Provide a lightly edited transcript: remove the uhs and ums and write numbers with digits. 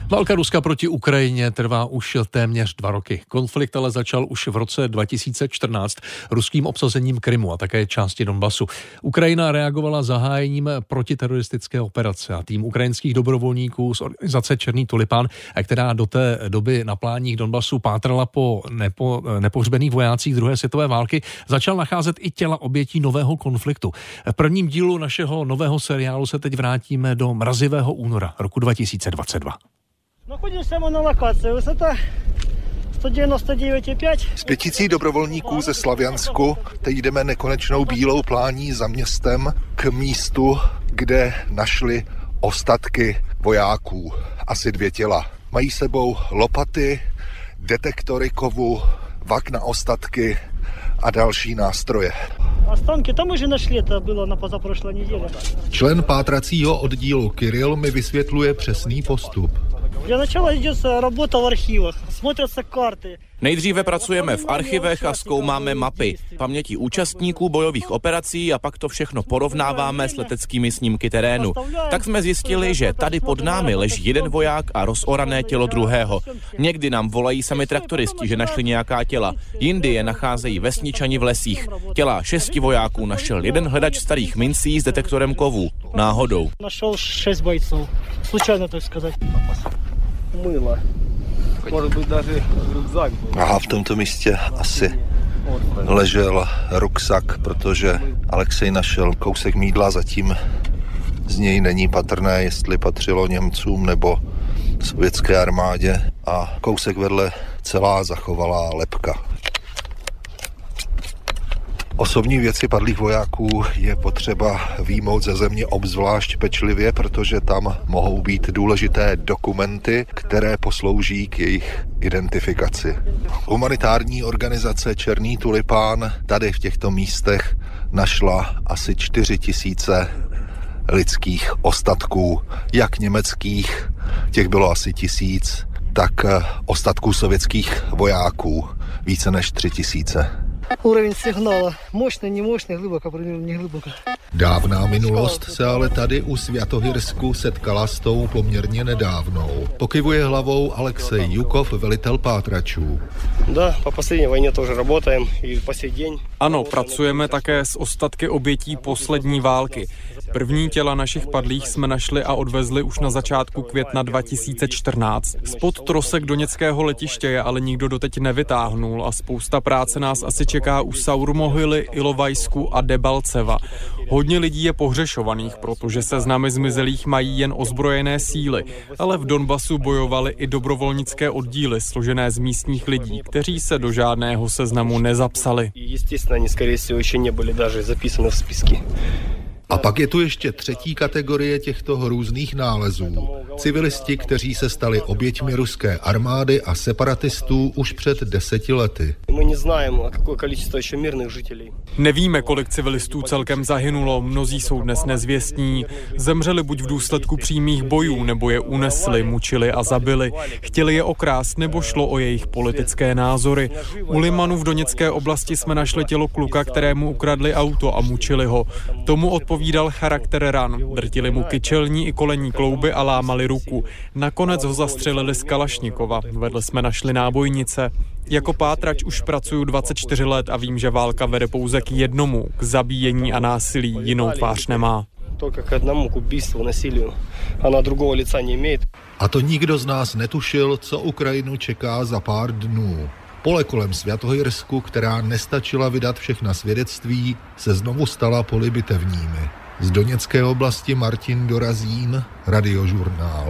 Válka Ruska proti Ukrajině trvá už téměř 2 roky. Konflikt ale začal už v roce 2014 ruským obsazením Krymu a také části Donbasu. Ukrajina reagovala zahájením protiteroristické operace a tým ukrajinských dobrovolníků z organizace Černý tulipán, která do té doby na pláních Donbasu pátrala po nepohřbených vojácích druhé světové války, začal nacházet i těla obětí nového konfliktu. V prvním dílu našeho nového seriálu se teď vrátíme do mrazivého února roku 2022. Находимся мы на локации. Высота 199,5. S 500 dobrovolníků ze Slaviansku teď jdeme nekonečnou bílou plání za městem k místu, kde našli ostatky vojáků. Asi 2 těla. Mají sebou lopaty, detektory kovu, vak na ostatky a další nástroje. Останки там уже нашли, это было на позапрошлой неделе. Člen pátracího oddílu Kiril mi vysvětluje přesný postup. Для начала идет работа в архивах, смотрятся карты. Nejdříve pracujeme v archivech a zkoumáme mapy, paměti účastníků bojových operací a pak to všechno porovnáváme s leteckými snímky terénu. Tak jsme zjistili, že tady pod námi leží jeden voják a rozorané tělo druhého. Někdy nám volají sami traktoristi, že našli nějaká těla, jindy je nacházejí vesničani v lesích. Těla 6 vojáků našel jeden hledač starých mincí s detektorem kovů. Náhodou. Našel 6 бойцов. Случайно, tak сказать. Мыло. Может быть, даже рюкзак был. Aha, v tomto místě asi ležel ruksak, protože Alexej našel kousek mýdla, zatím z něj není patrné, jestli patřilo Němcům nebo sovětské armádě, a kousek vedle celá zachovalá lebka. Osobní věci padlých vojáků je potřeba vyjmout ze země obzvlášť pečlivě, protože tam mohou být důležité dokumenty, které poslouží k jejich identifikaci. Humanitární organizace Černý tulipán tady v těchto místech našla asi 4 000 lidských ostatků, jak německých, těch bylo asi 1000, tak ostatků sovětských vojáků, více než 3 000. Уровень сигнала мощный, немощный, глубоко, примерно не глубоко. Dávná minulost se ale tady u Svjatohyrsku setkala s tou poměrně nedávnou. Pokyvuje hlavou Alexej Jukov, velitel pátračů. Да, по последней войне тоже работаем и по сей день. Ano, pracujeme také s ostatky obětí poslední války. První těla našich padlých jsme našli a odvezli už na začátku května 2014. Spod trosek doněckého letiště je ale nikdo doteď nevytáhnul a spousta práce nás asi čeká u Saurumohyly, Ilovajsku a Debalceva. Hodně lidí je pohřešovaných, protože seznamy zmizelých mají jen ozbrojené síly, ale v Donbasu bojovaly i dobrovolnické oddíly složené z místních lidí, kteří se do žádného seznamu nezapsali. A pak je tu ještě 3. kategorie těchto hrůzných nálezů. Civilisti, kteří se stali oběťmi ruské armády a separatistů už před 10 lety. Nevíme, kolik civilistů celkem zahynulo, mnozí jsou dnes nezvěstní. Zemřeli buď v důsledku přímých bojů, nebo je unesli, mučili a zabili. Chtěli je okrást, nebo šlo o jejich politické názory. U Limanu v Doněcké oblasti jsme našli tělo kluka, kterému ukradli auto a mučili ho. Tomu odpovídal charakter ran. Drtili mu kyčelní i kolenní klouby a lámali ruku. Nakonec ho zastřelili z Kalašnikova. Vedle jsme našli nábojnice. Jako pátrač už pracuju 24 let a vím, že válka vede pouze k jednomu, k zabíjení a násilí, jinou tvář nemá. A to nikdo z nás netušil, co Ukrajinu čeká za pár dnů. Pole kolem Svjatohyrsku, která nestačila vydat všechna svědectví, se znovu stala poli bitevními. Z Doněcké oblasti Martin Dorazín, Radiožurnál.